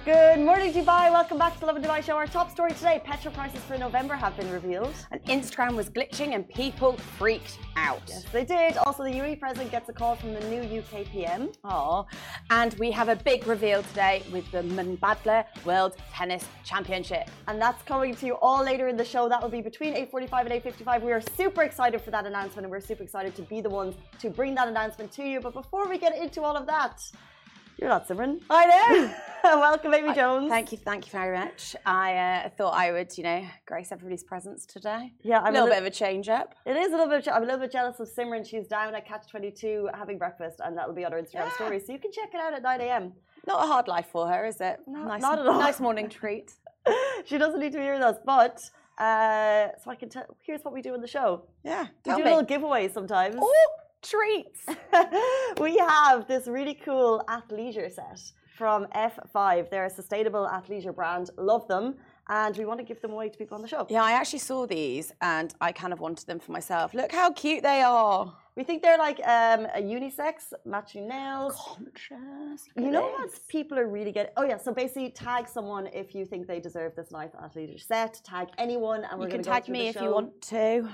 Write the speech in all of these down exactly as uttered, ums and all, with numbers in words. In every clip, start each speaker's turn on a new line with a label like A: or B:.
A: Good morning, Dubai. Welcome back to the Lovin Dubai show. Our top story today, petrol prices for November have been revealed.
B: And Instagram was glitching and people freaked out.
A: Yes, they did. Also, the U A E president gets a call from the new U K P M.
B: Oh, and we have a big reveal today with the Mubadala World Tennis Championship.
A: And that's coming to you all later in the show. That will be between eight forty-five and eight fifty-five. We are super excited for that announcement and we're super excited to be the ones to bring that announcement to you. But before we get into all of that, you're not Simran.
B: I know.
A: Welcome, Amy Jones.
B: Thank you, thank you very much. I uh, thought I would, you know, grace everybody's presence today.
A: Yeah, I'm
B: a little
A: a li-
B: bit of a change up.
A: It is a little bit. I'm a little bit jealous of Simran. She's down at Catch twenty-two having breakfast, and that'll be on her Instagram
B: Yeah.
A: story. So you can check it out at nine a.m.
B: Not a hard life for her, is it?
A: No,
B: nice,
A: not at all.
B: Nice morning treat.
A: She doesn't need to be here with us, but uh, so I can tell. Here's what we do in the show.
B: Yeah,
A: We
B: tell
A: do
B: me.
A: little giveaways sometimes.
B: Oh, treats.
A: We have this really cool athleisure set from F five. They're a sustainable athleisure brand. Love them. And we want to give them away to people on the show.
B: Yeah, I actually saw these and I kind of wanted them for myself. Look how cute they are.
A: We think they're like um, a unisex, matching nails.
B: Conscious.
A: You know what people are really getting? Oh yeah, so basically tag someone if you think they deserve this nice athleisure set. Tag anyone and we're
B: You
A: going
B: can
A: to go
B: tag
A: through
B: me
A: the
B: if
A: show.
B: you want to.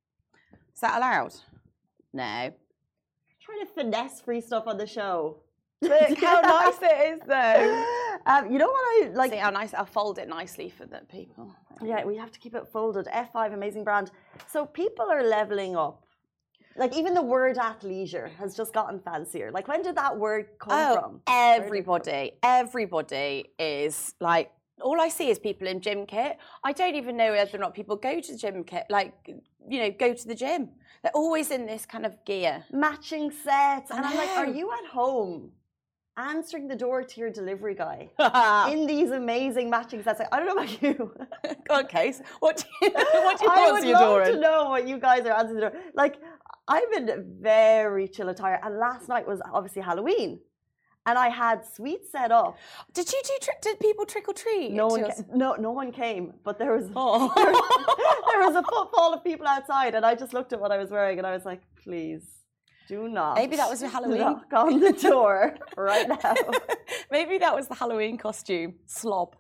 B: Is that allowed? No.
A: Trying to finesse free stuff on the show.
B: Look how nice it is though.
A: Um, you know what I like?
B: See how nice, I'll fold it nicely for the people.
A: Yeah, we have to keep it folded. F five, amazing brand. So people are leveling up. Like even the word athleisure has just gotten fancier. Like when did that word come
B: Oh,
A: from?
B: everybody, everybody is like, all I see is people in gym kit. I don't even know whether or not people go to the gym kit, like, you know, go to the gym. They're always in this kind of gear.
A: Matching sets.
B: I
A: And I'm like, are
B: know.
A: you at home answering the door to your delivery guy in these amazing matching sets? Like, I don't know about you.
B: Go on, Case. What do you, what do you
A: I
B: want
A: would
B: your door
A: love to
B: in?
A: know what you guys are answering the door. Like, I've been very chill attire. And last night was obviously Halloween. And I had sweets set up.
B: Did you do? Tri- did people trick or treat?
A: No one,
B: to
A: ca-
B: us?
A: no, no one came. But there was
B: Oh.
A: there was a footfall of people outside, and I just looked at what I was wearing, and I was like, please, do not.
B: Maybe that was your Halloween.
A: Knock on the door right now.
B: Maybe that was the Halloween costume. Slob.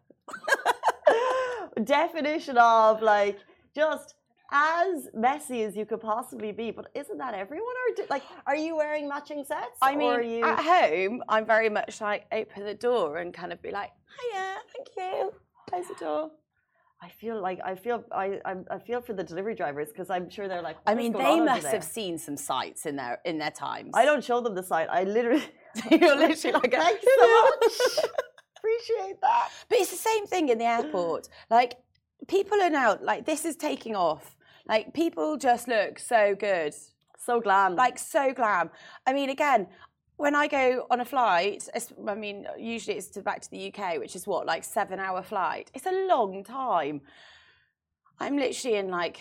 A: Definition of like just as messy as you could possibly be, but isn't that everyone? Or do, like, are you wearing matching sets?
B: I
A: or
B: mean,
A: are you...
B: at home, I'm very much like open the door and kind of be like, hiya, thank you. Close the door.
A: I feel like I feel I I'm, I feel for the delivery drivers because I'm sure they're like.
B: I
A: "What's
B: mean,
A: going
B: they
A: on over
B: must
A: there?"
B: have seen some sights in their in their times.
A: I don't show them the site. I literally.
B: You're literally like,
A: Thanks so much. Appreciate that.
B: But it's the same thing in the airport. Like, people are now, like, this is taking off. Like, people just look so good.
A: So glam.
B: Like, so glam. I mean, again, when I go on a flight, it's- I mean, usually it's to back to the U K, which is what, like seven hour flight. It's a long time. I'm literally in like,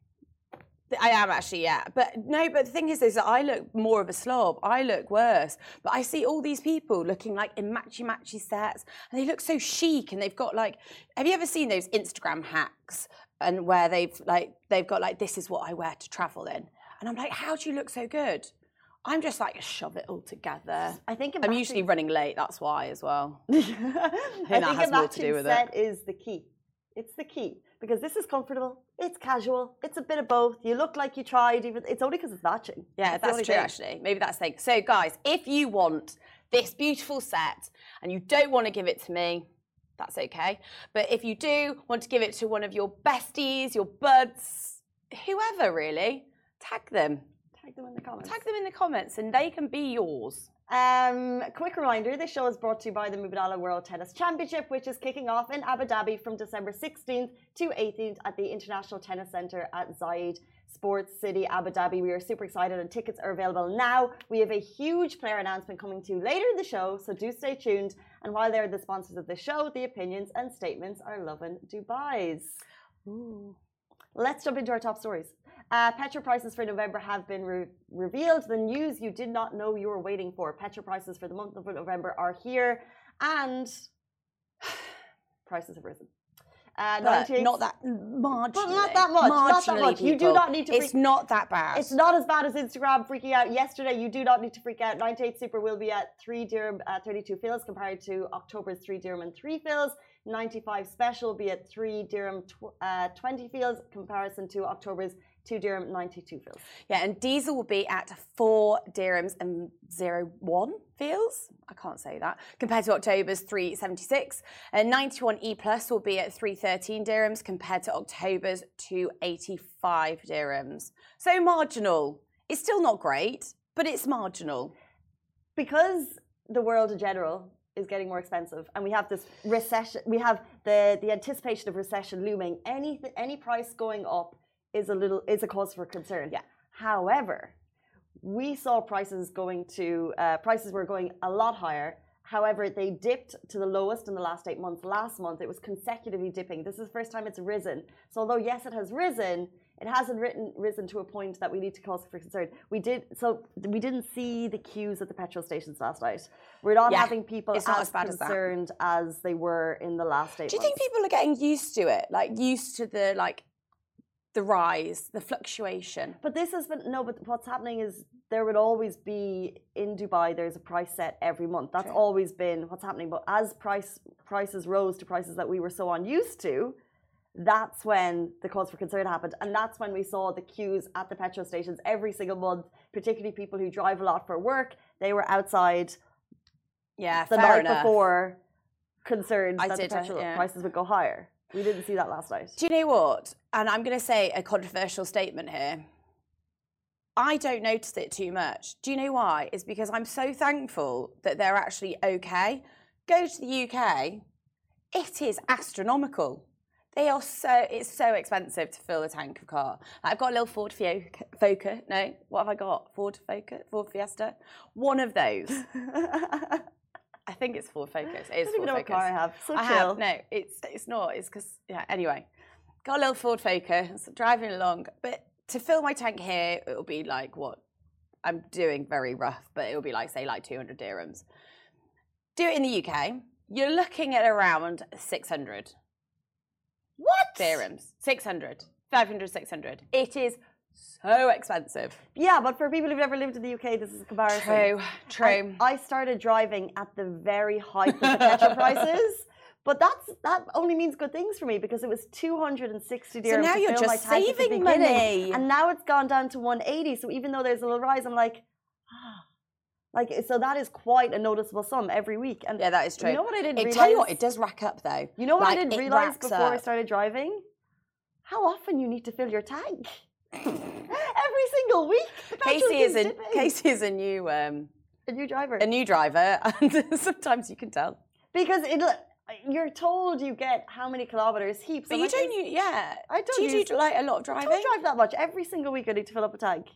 B: I am actually, yeah. But no, but the thing is, is that I look more of a slob. I look worse. But I see all these people looking like in matchy-matchy sets, and they look so chic, and they've got like, have you ever seen those Instagram hacks and where they've like, they've got like, this is what I wear to travel in. And I'm like, how do you look so good? I'm just like, shove it all together.
A: I think a
B: I'm
A: matching-
B: usually running late, that's why as well.
A: I
B: that
A: think
B: has
A: a
B: more to do
A: matching
B: with it.
A: set is the key. It's the key because this is comfortable. It's casual. It's a bit of both. You look like you tried. Even it's only because it's matching.
B: Yeah,
A: That's the
B: that's
A: only
B: true,
A: thing.
B: actually. Maybe that's the thing. So, guys, if you want this beautiful set and you don't want to give it to me, that's okay. But if you do want to give it to one of your besties, your buds, whoever really, tag them.
A: Tag them in the comments.
B: Tag them in the comments and they can be yours.
A: Um, quick reminder, this show is brought to you by the Mubadala World Tennis Championship, which is kicking off in Abu Dhabi from December sixteenth to eighteenth at the International Tennis Centre at Zayed Sports City, Abu Dhabi. We are super excited and tickets are available now. We have a huge player announcement coming to you later in the show, so do stay tuned. And while they're the sponsors of the show, the opinions and statements are Lovin Dubai's.
B: Ooh.
A: Let's jump into our top stories. Uh, petrol prices for November have been re revealed. The news you did not know you were waiting for. Petrol prices for the month of November are here, and prices have risen. Uh,
B: but
A: ninety-eight.
B: not that marginally.
A: But not that much. Not that much. You do not need to. Freak.
B: It's not that bad.
A: It's not as bad as Instagram freaking out yesterday. You do not need to freak out. ninety-eight Super will be at three dirham, uh, thirty-two fils compared to October's three dirham and three fils. ninety-five Special will be at three dirham, tw- uh, twenty fils comparison to October's two dirham, ninety-two fils.
B: Yeah, and diesel will be at four dirhams and zero one fils. I can't say that. Compared to October's three seventy-six. And ninety-one E Plus will be at three thirteen dirhams compared to October's two eighty-five dirhams. So marginal. It's still not great, but it's marginal.
A: Because the world in general is getting more expensive and we have this recession, we have the, the anticipation of recession looming, any, any price going up is a little is a cause for concern.
B: Yeah.
A: However, we saw prices going to uh, prices were going a lot higher. However, they dipped to the lowest in the last eight months. Last month, it was consecutively dipping. This is the first time it's risen. So although yes, it has risen, it hasn't written, risen to a point that we need to cause for concern. We did so we didn't see the queues at the petrol stations last night. We're not
B: yeah,
A: having people
B: it's not
A: as,
B: as bad
A: concerned as, as they were in the last eight.
B: Do you
A: months.
B: think people are getting used to it? Like used to the like. The rise, the fluctuation.
A: But this has been no. But what's happening is there would always be in Dubai. There's a price set every month. That's
B: True.
A: always been what's happening. But as price prices rose to prices that we were so unused to, that's when the cause for concern happened, and that's when we saw the queues at the petrol stations every single month. Particularly people who drive a lot for work, they were outside.
B: Yeah,
A: the
B: fair
A: night
B: enough.
A: before, concerned
B: I
A: that
B: did,
A: the petrol
B: yeah.
A: prices would go higher. We didn't see that last night.
B: Do you know what? And I'm going to say a controversial statement here. I don't notice it too much. Do you know why? It's because I'm so thankful that they're actually okay. Go to the U K, it is astronomical. They are so, it's so expensive to fill a tank of car. I've got a little Ford Focus. No, what have I got? Ford Focus? Ford Fiesta? One of those. I think it's Ford Focus. It is
A: I don't even
B: Ford
A: know
B: Focus.
A: what car I have. So
B: I
A: chill.
B: have. No, it's it's not. It's because yeah. Anyway, got a little Ford Focus, driving along. But to fill my tank here, it'll be like what I'm doing very rough, but it'll be like say like two hundred dirhams. Do it in the U K. You're looking at around six hundred.
A: What?
B: Dirhams. six hundred. five hundred, six hundred. It is so expensive.
A: Yeah, but for people who've never lived in the U K, this is a comparison.
B: True, true.
A: I, I started driving at the very height of the petrol prices, but that's that only means good things for me because it was two hundred sixty dirhams.
B: So now
A: to
B: you're
A: fill
B: just
A: my tank at the
B: saving
A: beginning,
B: money.
A: and now it's gone down to one eighty. So even though there's a little rise, I'm like, ah, like so that is quite a noticeable sum every week. And
B: Yeah, that is true.
A: you know what I didn't
B: It,
A: realize?
B: tell you what, it does rack up though.
A: You know what
B: Like,
A: I didn't
B: it
A: realize
B: racks
A: before I
B: up.
A: started driving? How often you need to fill your tank. Every single week. The petrol
B: Casey is
A: keeps
B: a
A: dipping.
B: Casey is a new um,
A: A new driver.
B: a new driver, and sometimes you can tell.
A: Because it, you're told you get how many kilometers heaps.
B: But
A: I'm
B: you
A: like,
B: don't, use, yeah.
A: I don't
B: do you
A: use-
B: do like a lot of
A: I
B: driving?
A: don't drive that much. Every single week I need to fill up a tank.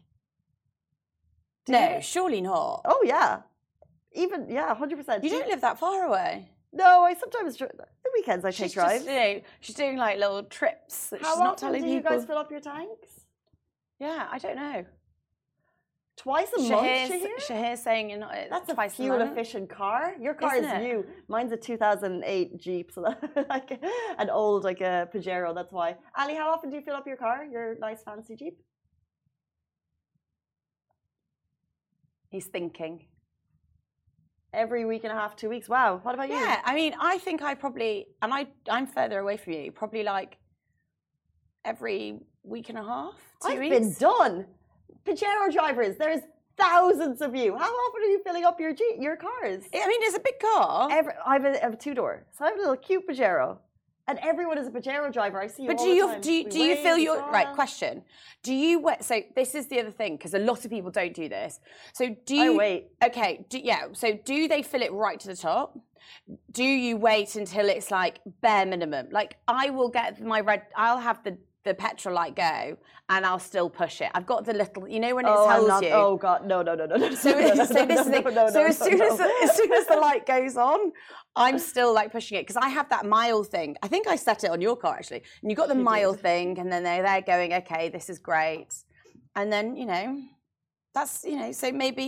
A: Do
B: No,
A: you?
B: surely not.
A: Oh yeah. Even yeah, one hundred percent.
B: You don't live that far away.
A: No, I sometimes dri- the weekends I take
B: She's
A: drives.
B: just, you know, she's doing like little trips that
A: How
B: she's not
A: often
B: telling
A: do you
B: people.
A: guys fill up your tanks?
B: Yeah, I don't know.
A: Twice a month,
B: Shahir's,
A: Shahir?
B: Shahir's saying you're not.
A: That's a
B: twice
A: fuel
B: a month.
A: efficient car. Your car
B: Isn't
A: is
B: it?
A: new. Mine's a two thousand eight Jeep, so that, like an old like a Pajero. That's why. Ali, how often do you fill up your car? Your nice fancy Jeep?
B: He's thinking.
A: Every week and a half, two weeks. Wow. What about you?
B: Yeah, I mean, I think I probably, and I, I'm further away from you. Probably like every week and a half, two
A: I've
B: weeks.
A: been done. Pajero drivers, there's thousands of you. How often are you filling up your Jeep, your cars?
B: I mean, it's a big car.
A: Every, I have a, I have a two door, so I have a little cute Pajero, and everyone is a Pajero driver. I see you.
B: But
A: all
B: do
A: the
B: you
A: time.
B: do you,
A: We
B: do you
A: wave,
B: fill
A: we
B: your
A: smile.
B: right question? Do you wait? So this is the other thing because a lot of people don't do this. So do
A: I
B: you
A: wait.
B: Okay, do, yeah. So do they fill it right to the top? Do you wait until it's like bare minimum? Like I will get my red. I'll have the the petrol light go, and I'll still push it. I've got the little, you know, when it
A: Oh, I'm
B: tells
A: not,
B: you.
A: oh God, no, no, no, no, no.
B: So, so this is the,
A: no, no,
B: so
A: no,
B: as soon
A: no,
B: as the, as soon as the light goes on, I'm still like pushing it because I have that mile thing. I think I set it on your car actually, and you got the
A: You
B: mile
A: did.
B: thing, and then they're there going, okay, this is great, and then you know, that's you know, so maybe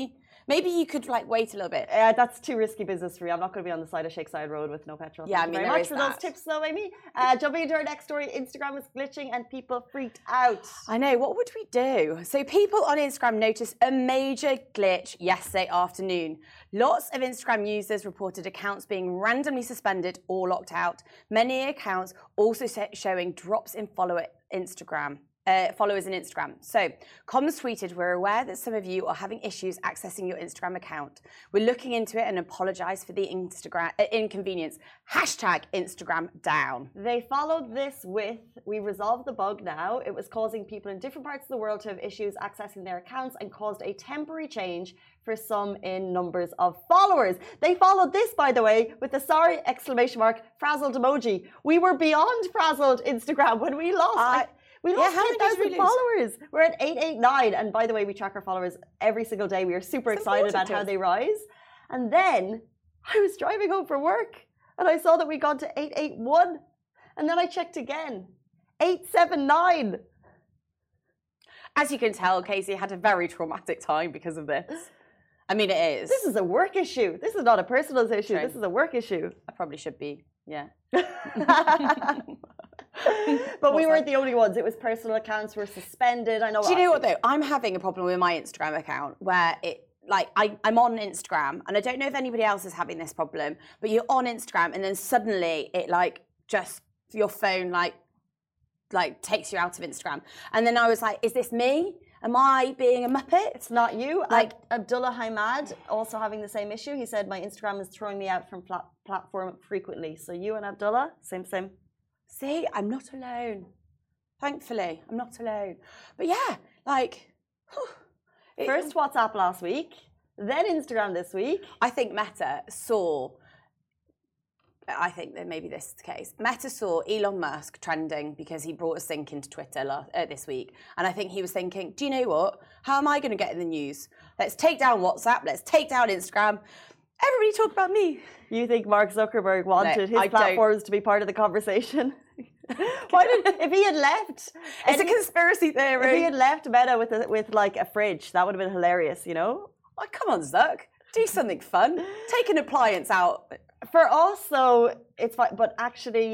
B: Maybe you could like wait a little bit.
A: Uh, that's too risky business for me. I'm not going to be on the side of Shakeside Road with no petrol.
B: Yeah,
A: Thank
B: I mean,
A: you very
B: there
A: much
B: is
A: for
B: that.
A: those tips, though, Amy. Uh, jumping into our next story, Instagram was glitching and people freaked out.
B: I know. What would we do? So people on Instagram noticed a major glitch yesterday afternoon. Lots of Instagram users reported accounts being randomly suspended or locked out. Many accounts also showing drops in follower Instagram. Uh, followers in Instagram. So, Comms tweeted, we're aware that some of you are having issues accessing your Instagram account. We're looking into it and apologise for the Instagram uh, inconvenience. Hashtag Instagram down.
A: They followed this with, we resolved the bug now. It was causing people in different parts of the world to have issues accessing their accounts and caused a temporary change for some in numbers of followers. They followed this, by the way, with the sorry exclamation mark frazzled emoji. We were beyond frazzled Instagram when we lost.
B: Uh,
A: I, We lost
B: yeah,
A: ten thousand followers. We're at eight eight nine. And by the way, we track our followers every single day. We are super
B: it's
A: excited about how they rise. And then I was driving home from work and I saw that we got to eight eight one. And then I checked again. eight seven nine.
B: As you can tell, Casey had a very traumatic time because of this. I mean, it is.
A: This is a work issue. This is not a personal issue.
B: True.
A: This is a work issue.
B: I probably should be, yeah.
A: But we weren't the only ones. It was personal accounts were suspended. I know.
B: Do you know what though? I'm having a problem with my Instagram account where it like I, I'm on Instagram and I don't know if anybody else is having this problem, but you're on Instagram and then suddenly it like just your phone like like takes you out of Instagram. And then I was like, is this me? Am I being a muppet?
A: It's not you.
B: Like
A: Ab- Abdullah Hamad also having the same issue. He said my Instagram is throwing me out from plat- platform frequently. So you and Abdullah, same same.
B: See, I'm not alone. Thankfully, I'm not alone. But yeah, like whew, it,
A: first WhatsApp last week, then Instagram this week.
B: I think Meta saw. I think that maybe this is the case. Meta saw Elon Musk trending because he brought a sync into Twitter last, uh, this week. And I think he was thinking, do you know what? How am I going to get in the news? Let's take down WhatsApp. Let's take down Instagram. Everybody talk about me.
A: You think Mark Zuckerberg wanted
B: no,
A: his
B: I
A: platforms don't. to be part of the conversation? Why did, if he had left...
B: It's a conspiracy theory.
A: If he had left Meta with, a, with like a fridge, that would have been hilarious, you know?
B: Oh, come on, Zuck. Do something fun. Take an appliance out.
A: For us, though, it's fine. But actually,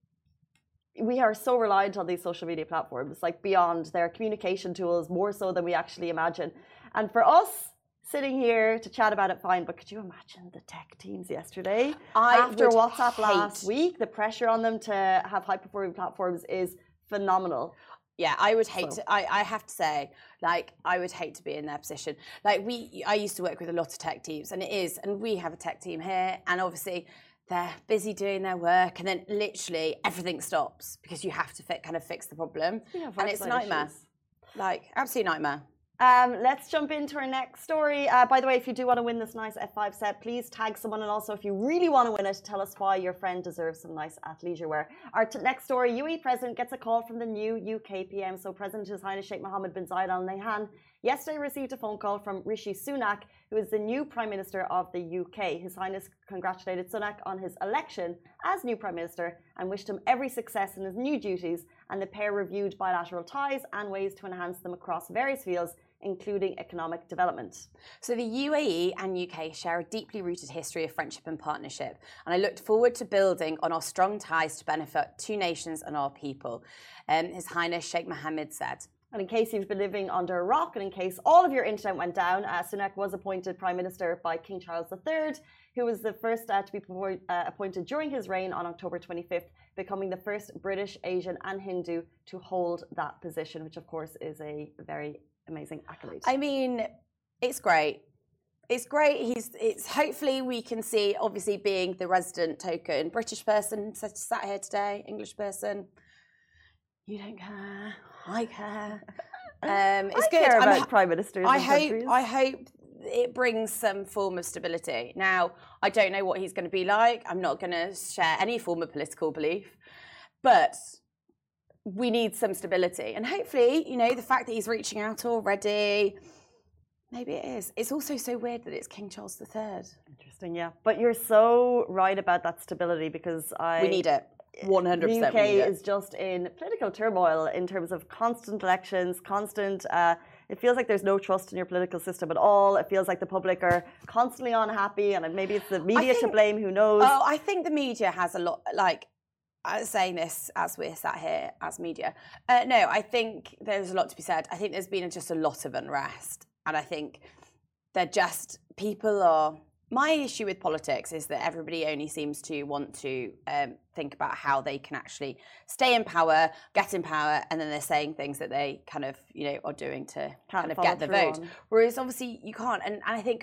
A: we are so reliant on these social media platforms, like beyond their communication tools, more so than we actually imagine. And for us, sitting here to chat about it, fine. But could you imagine the tech teams yesterday?
B: I
A: After WhatsApp
B: hate.
A: last week, the pressure on them to have high-performing platforms is phenomenal.
B: Yeah, I would hate
A: So.
B: to, I, I have to say, like, I would hate to be in their position. Like, we, I used to work with a lot of tech teams, and it is, and we have a tech team here, and obviously they're busy doing their work, and then literally everything stops because you have to fi- kind of fix the problem.
A: Yeah,
B: and it's a nightmare.
A: issues.
B: Like, absolute nightmare.
A: Um, let's jump into our next story. Uh, by the way, if you do want to win this nice F five set, please tag someone. And also, if you really want to win it, tell us why your friend deserves some nice athleisure wear. Our t- next story, U A E President gets a call from the new U K P M. So President His Highness Sheikh Mohammed bin Zayed Al Nahyan yesterday received a phone call from Rishi Sunak, who is the new Prime Minister of the U K. His Highness congratulated Sunak on his election as new Prime Minister and wished him every success in his new duties. And the pair reviewed bilateral ties and ways to enhance them across various fields, including economic development.
B: So the U A E and U K share a deeply rooted history of friendship and partnership, and I looked forward to building on our strong ties to benefit two nations and our people, um, His Highness Sheikh Mohammed said.
A: And in case you've been living under a rock and in case all of your internet went down, uh, Sunak was appointed Prime Minister by King Charles the Third, who was the first uh, to be uh, appointed during his reign on October twenty-fifth, becoming the first British, Asian and Hindu to hold that position, which of course is a very amazing accolade.
B: I mean, it's great. It's great. He's. It's hopefully we can see. Obviously, being the resident token British person sat here today, English person. You don't care. I care. Um, it's
A: I
B: good.
A: care about
B: I'm,
A: prime ministers.
B: I
A: in
B: hope.
A: countries.
B: I hope it brings some form of stability. Now, I don't know what he's going to be like. I'm not going to share any form of political belief, but we need some stability. And hopefully, you know, the fact that he's reaching out already, maybe it is. It's also so weird that it's King Charles the Third.
A: Interesting, yeah. But you're so right about that stability because I...
B: We need it. one hundred percent
A: the U K is just in political turmoil in terms of constant elections, constant uh, it feels like there's no trust in your political system at all. It feels like the public are constantly unhappy, and maybe it's the media think, to blame. Who knows?
B: Oh, I think the media has a lot. Like I'm saying this as we're sat here as media. Uh, no, I think there's a lot to be said. I think there's been just a lot of unrest, and I think they're just people are. My issue with politics is that everybody only seems to want to um, think about how they can actually stay in power, get in power, and then they're saying things that they kind of, you know, are doing to
A: can't
B: kind of get the vote. On. Whereas obviously you can't. And, and I think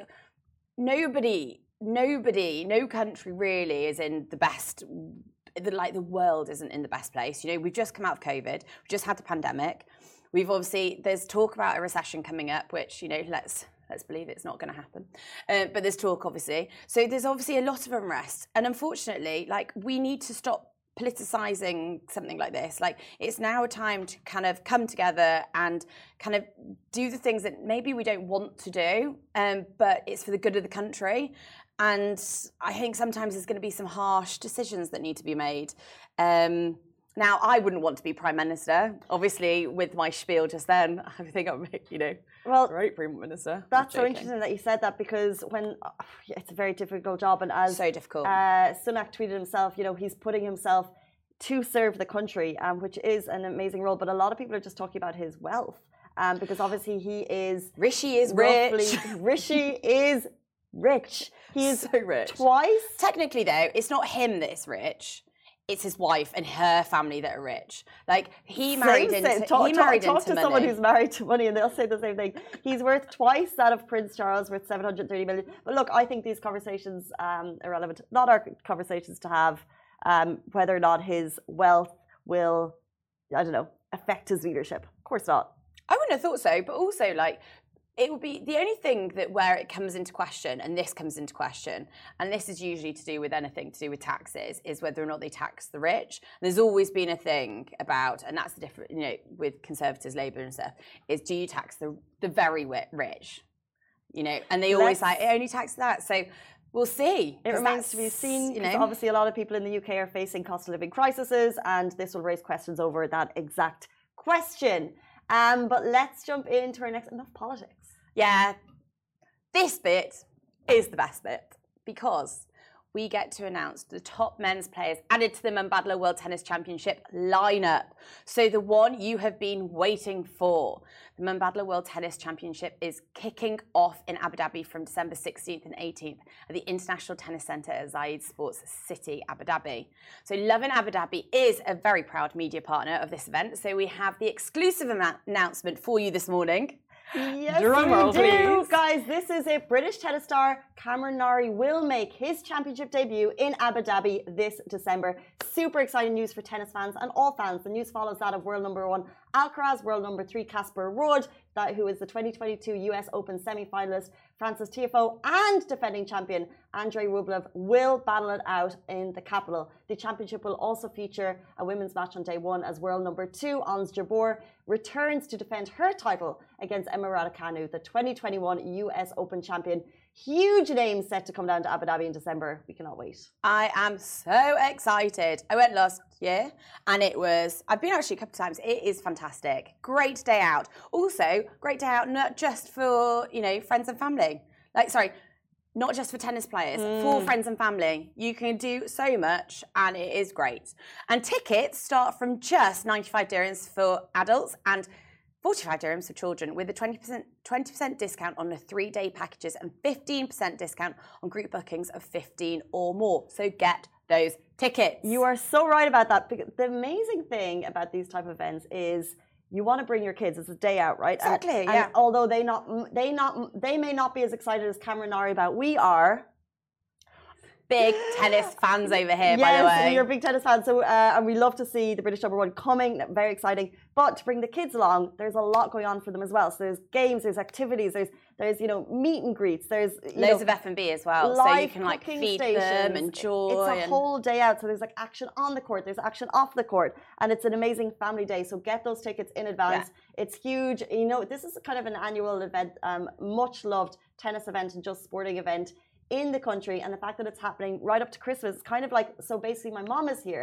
B: nobody, nobody, no country really is in the best, the, like the world isn't in the best place. You know, we've just come out of COVID. We've just had the pandemic. We've obviously, there's talk about a recession coming up, which, you know, let's... Let's believe it's not going to happen. Uh, but there's talk, obviously. So there's obviously a lot of unrest. And unfortunately, like, we need to stop politicizing something like this. Like, it's now a time to kind of come together and kind of do the things that maybe we don't want to do, um, but it's for the good of the country. And I think sometimes there's going to be some harsh decisions that need to be made. Um, Now, I wouldn't want to be Prime Minister. Obviously, with my spiel just then, I think I'm, you know,
A: well,
B: great Prime Minister.
A: That's so interesting that you said that, because when uh, it's a very difficult job, and as
B: so difficult.
A: Uh, Sunak tweeted himself, you know, he's putting himself to serve the country, um, which is an amazing role. But a lot of people are just talking about his wealth, um, because obviously he is
B: Rishi is
A: roughly,
B: rich.
A: Rishi is rich. He is
B: so rich.
A: Twice.
B: Technically, though, it's not him that is rich. It's his wife and her family that are rich. Like, he married
A: same,
B: into
A: same. Talk,
B: he
A: talk,
B: married
A: talk
B: into
A: to
B: money.
A: someone who's married to money, and they'll say the same thing. He's worth twice that of Prince Charles, worth seven hundred thirty million. But look, I think these conversations um, are relevant. Not our conversations to have, um, whether or not his wealth will, I don't know, affect his leadership. Of course not.
B: I wouldn't have thought so. But also, like, it would be the only thing that where it comes into question, and this comes into question, and this is usually to do with anything to do with taxes, is whether or not they tax the rich. There's always been a thing about, and that's the difference, you know, with Conservatives, Labour and stuff, is do you tax the the very rich, you know? And they always
A: Let's,
B: like, it only tax that. So we'll see.
A: It remains to be seen, because you know, obviously a lot of people in the U K are facing cost of living crises, and this will raise questions over that exact question. Um, but let's jump into our next, enough politics.
B: Yeah, this bit is the best bit, because we get to announce the top men's players added to the Mubadala World Tennis Championship lineup. So the one you have been waiting for. The Mubadala World Tennis Championship is kicking off in Abu Dhabi from December sixteenth and eighteenth at the International Tennis Centre at Zayed Sports City, Abu Dhabi. So Lovin Abu Dhabi is a very proud media partner of this event. So we have the exclusive announcement for you this morning.
A: Yes, Drum we roll, do. Please. Guys, this is it. British tennis star Cameron Norrie will make his championship debut in Abu Dhabi this December. Super exciting news for tennis fans and all fans. The news follows that of world number one Alcaraz, world number three Casper Ruud, that who is the twenty twenty-two U S Open semi-finalist Frances Tiafoe, and defending champion Andrei Rublev will battle it out in the capital. The championship will also feature a women's match on day one, as world number two Ons Jabeur returns to defend her title against Emma Raducanu, the twenty twenty-one U S Open champion. Huge names set to come down to Abu Dhabi in December. We cannot wait.
B: I am so excited. I went last year, and it was, I've been actually a couple of times. It is fantastic. Great day out. Also, great day out not just for, you know, friends and family. Like, sorry, not just for tennis players, mm. for friends and family. You can do so much, and it is great. And tickets start from just ninety-five dirhams for adults and forty-five dirhams for children, with a twenty percent twenty percent discount on the three-day packages and fifteen percent discount on group bookings of fifteen or more. So get those tickets.
A: You are so right about that. The amazing thing about these type of events is you want to bring your kids. It's a day out, right?
B: Exactly.
A: And,
B: yeah.
A: And although they not they not they may not be as excited as Cameron Norrie about, we are.
B: Big tennis fans over here,
A: yes,
B: by the way.
A: Yes, you're a big tennis fan, so uh, and we love to see the British number one coming. Very exciting. But to bring the kids along, there's a lot going on for them as well. So there's games, there's activities, there's there's you know meet and greets, there's you
B: loads
A: know,
B: of F and B as well, so you can like feed
A: stations.
B: them, enjoy.
A: It's a
B: and...
A: whole day out. So there's like action on the court, there's action off the court, and it's an amazing family day. So get those tickets in advance. Yeah. It's huge. You know, this is kind of an annual event, um, much loved tennis event and just sporting event in the country, and the fact that it's happening right up to Christmas, it's kind of like, so basically my mom is here,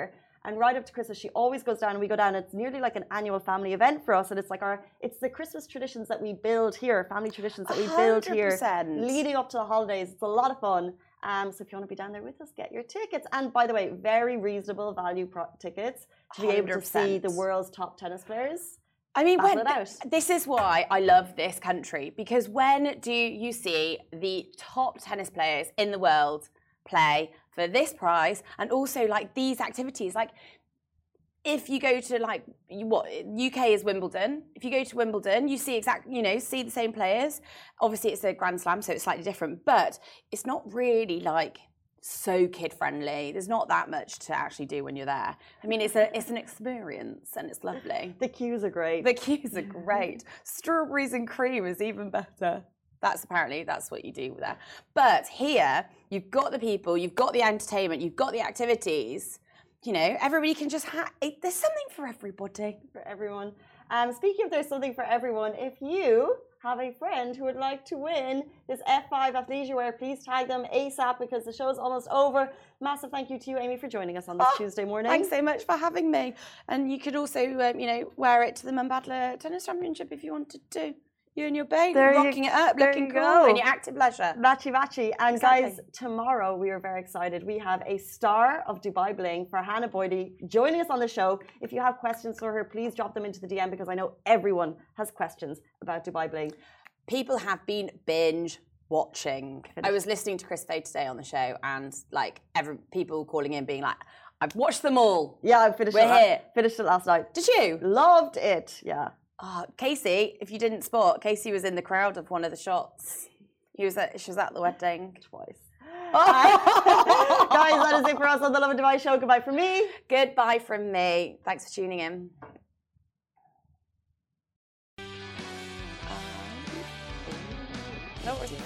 A: And right up to Christmas, she always goes down and we go down. It's nearly like an annual family event for us. And it's like our, it's the Christmas traditions that we build here, family traditions that we build here,
B: one hundred percent.
A: leading up to the holidays. It's a lot of fun. Um, so if you want to be down there with us, get your tickets. And by the way, very reasonable value pro- tickets to be able to see the world's top tennis players.
B: I mean, when,
A: th-
B: this is why I love this country, because when do you see the top tennis players in the world play for this prize and also like these activities? Like, if you go to like what U K is Wimbledon, if you go to Wimbledon, you see exact, you know, see the same players. Obviously, it's a Grand Slam, so it's slightly different, but it's not really like so kid friendly. There's not that much to actually do when you're there. I mean, it's a it's an experience and it's lovely.
A: The queues are great.
B: The queues are great. Strawberries and cream is even better. That's apparently that's what you do there. But here, you've got the people, you've got the entertainment, you've got the activities. You know, everybody can just have. There's something for everybody.
A: For everyone. Um, speaking of there's something for everyone, if you have a friend who would like to win this F five athleisure wear, please tag them ASAP because the show is almost over. Massive thank you to you, Amy, for joining us on this oh, Tuesday morning.
B: Thanks so much for having me. And you could also, um, you know, wear it to the Mumbadala Tennis Championship if you wanted to. You and your babe there rocking you, it up, looking cool in your active leisure.
A: Matchy matchy. And exactly. Guys, tomorrow we are very excited. We have a star of Dubai Bling, Farhana Boydie, joining us on the show. If you have questions for her, please drop them into the D M because I know everyone has questions about Dubai Bling.
B: People have been binge watching.
A: Finish.
B: I was listening to Chris Fade today on the show and like every people calling in being like, I've watched them all.
A: Yeah, I finished
B: We're
A: it.
B: Here.
A: La- finished it last night.
B: Did you?
A: Loved it. Yeah.
B: Oh, Casey, if you didn't spot, Casey was in the crowd of one of the shots. He was at, she was at the wedding.
A: Twice. Guys, that is it for us on the Lovin Dubai show. Goodbye from me.
B: Goodbye from me. Thanks for tuning in. No worries.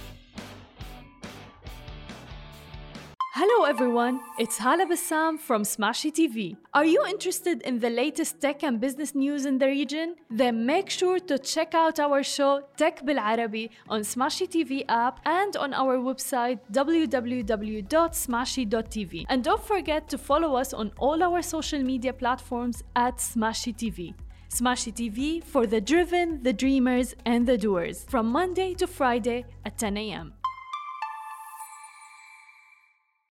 C: Hello everyone, it's Hala Bassam from Smashy T V. Are you interested in the latest tech and business news in the region? Then make sure to check out our show Tech Bil Arabi on Smashy T V app and on our website w w w dot smashy dot t v. And don't forget to follow us on all our social media platforms at Smashy T V. Smashy T V for the driven, the dreamers and the doers from Monday to Friday at ten a m